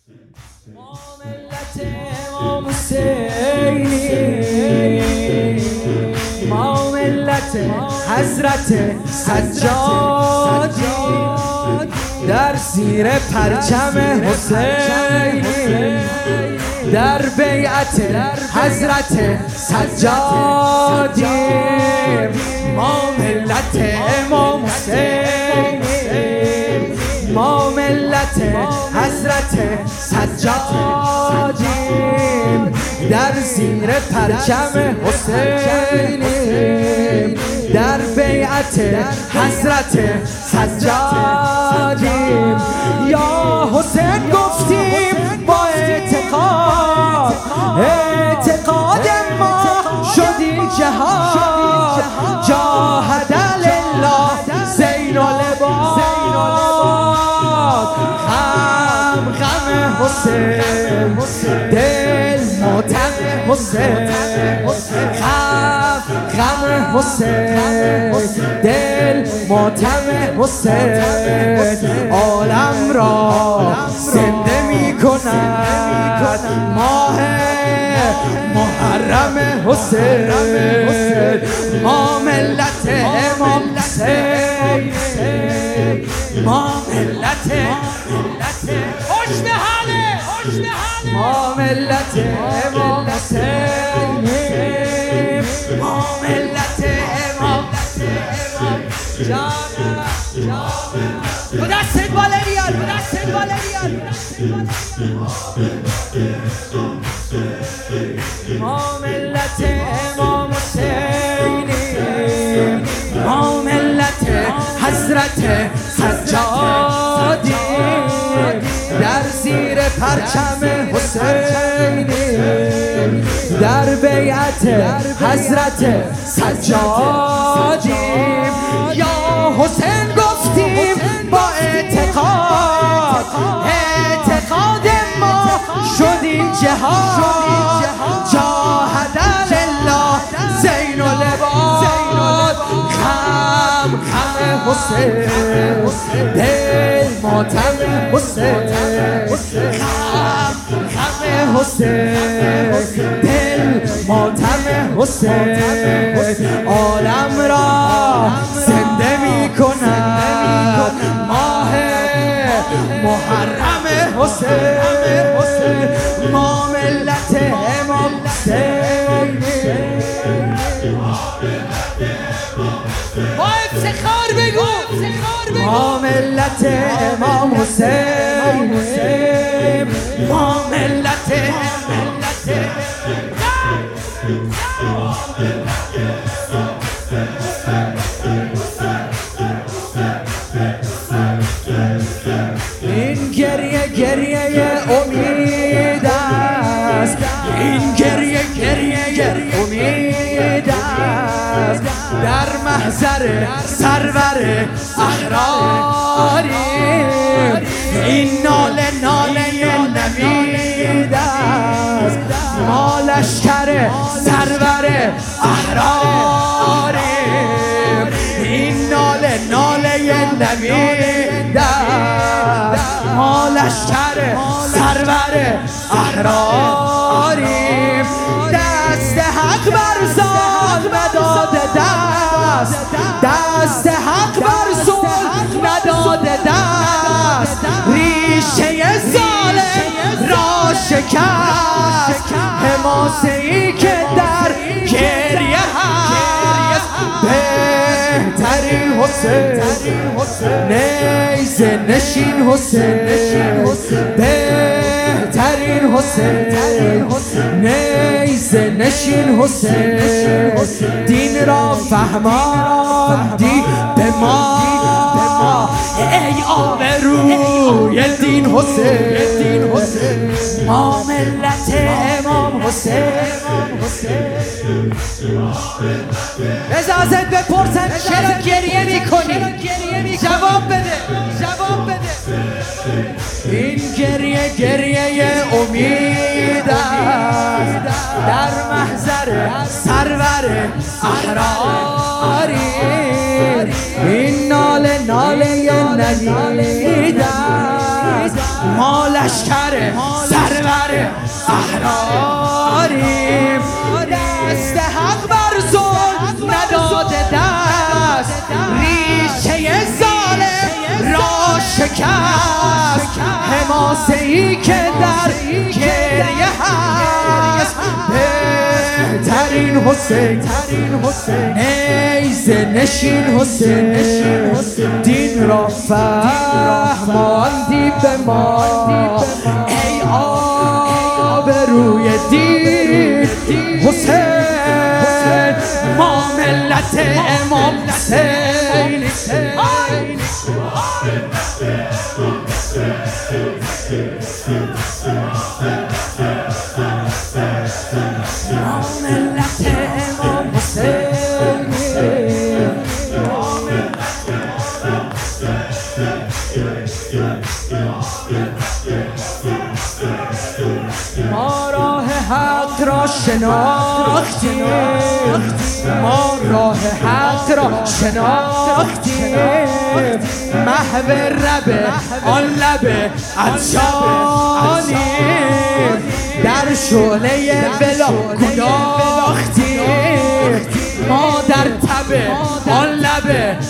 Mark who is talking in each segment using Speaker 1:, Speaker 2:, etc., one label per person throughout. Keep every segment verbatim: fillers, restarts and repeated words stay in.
Speaker 1: ملت امام حسینی، ما ملت حضرت سجادی، در زیر پرچم حسینی، در بیعت حضرت سجادی، ما ملت امام حسینی، ما ملت حضرت سجادیم، در زیر پرچم حسینیم، در بیعت حضرت سجادیم. یا حسین گفتیم با اعتقاد، اعتقاد ما شدی جهاد، جاهد لله زین العباد. غم غم حسین، دل ماتم حسین، غم غم حسین، دل ماتم حسین، عالم را زنده می کند ماه محرم حسین. ما ملت امام حسین، ما ملت خوش به حاله، ما ملت امام حسین، ما ملت امام جانم جانم دست بالا بیار، دست بالا بیار. ما ملت امام حسینی، ما ملت حضرت سجادی، در زیر پرچم حسینی، در بیعت حضرت سجادی. یا حسین گفتیم با اعتقاد، اعتقاد ما شدیم جهاد، جاهد لله زین العباد. غم غم حسین، دل ماتم حسین، غم غم حسین، دل ماتم حسین، عالم را زنده می کند ماه محرم حسین. ما ملت امام حسین، با افتخار بگو، ما ملت امام حسین، ما ملت ملت این گریه گریه امید است، این گریه گریه امید است، در محضر سرور احراری. این ناله ناله نوید است، ما لشکر سرور احراری. این ناله ناله نوید است، ما لشکر سرور احراری. دست حق بر ظالم نداده دست، دست حق بر ظلم نداده دست، ریشه ظالم را شکست، حماسه‌ای که در گریه هست. بهترین حسین، نیزه نشین حسین، بهترین حسین، نیزه نشین حسین، دین را فهماندی به ما، ای آبروی دین حسین. ما ملت امام حسین. اجازت بپرسن چرا گریه میکنی؟ جواب بده، جواب بده. این گریه گریه امید است، در محضر سرور احراری. این ناله ناله نوید است، ما لشکر سرور احراریم دست حق بر ظلم نداده دست ریشه ظالم را شکست حماسه‌ای که در گریه هست بهترین حسین نیزه نشین حسین دین را فهماندی به ما ای آبروی دین حسین ما ملت امام حسین ما ملت امام حسین ما راه حق را شناختیم ما راه حق را شناختیم محو رب آن لب عطشانیم در شعله ولا گداختیم ما در تب آن لب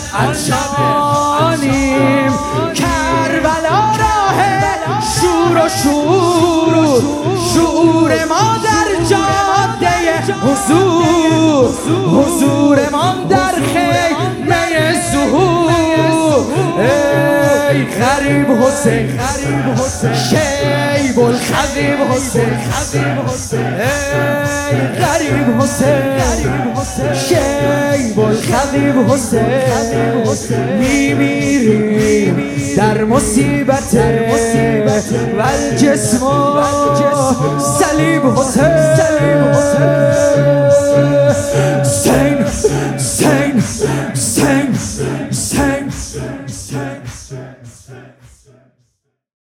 Speaker 1: عطشانیم کربلا راه شور و شور شعور ما در جاده حضور حضور ما در خیمه ظهور ای غریب حسین شیب الخویب حسین ای غریب حسین شیب الخویب حسین میمیریم در مصیبت و الجسم صلیب حسین سین سین سین سین سین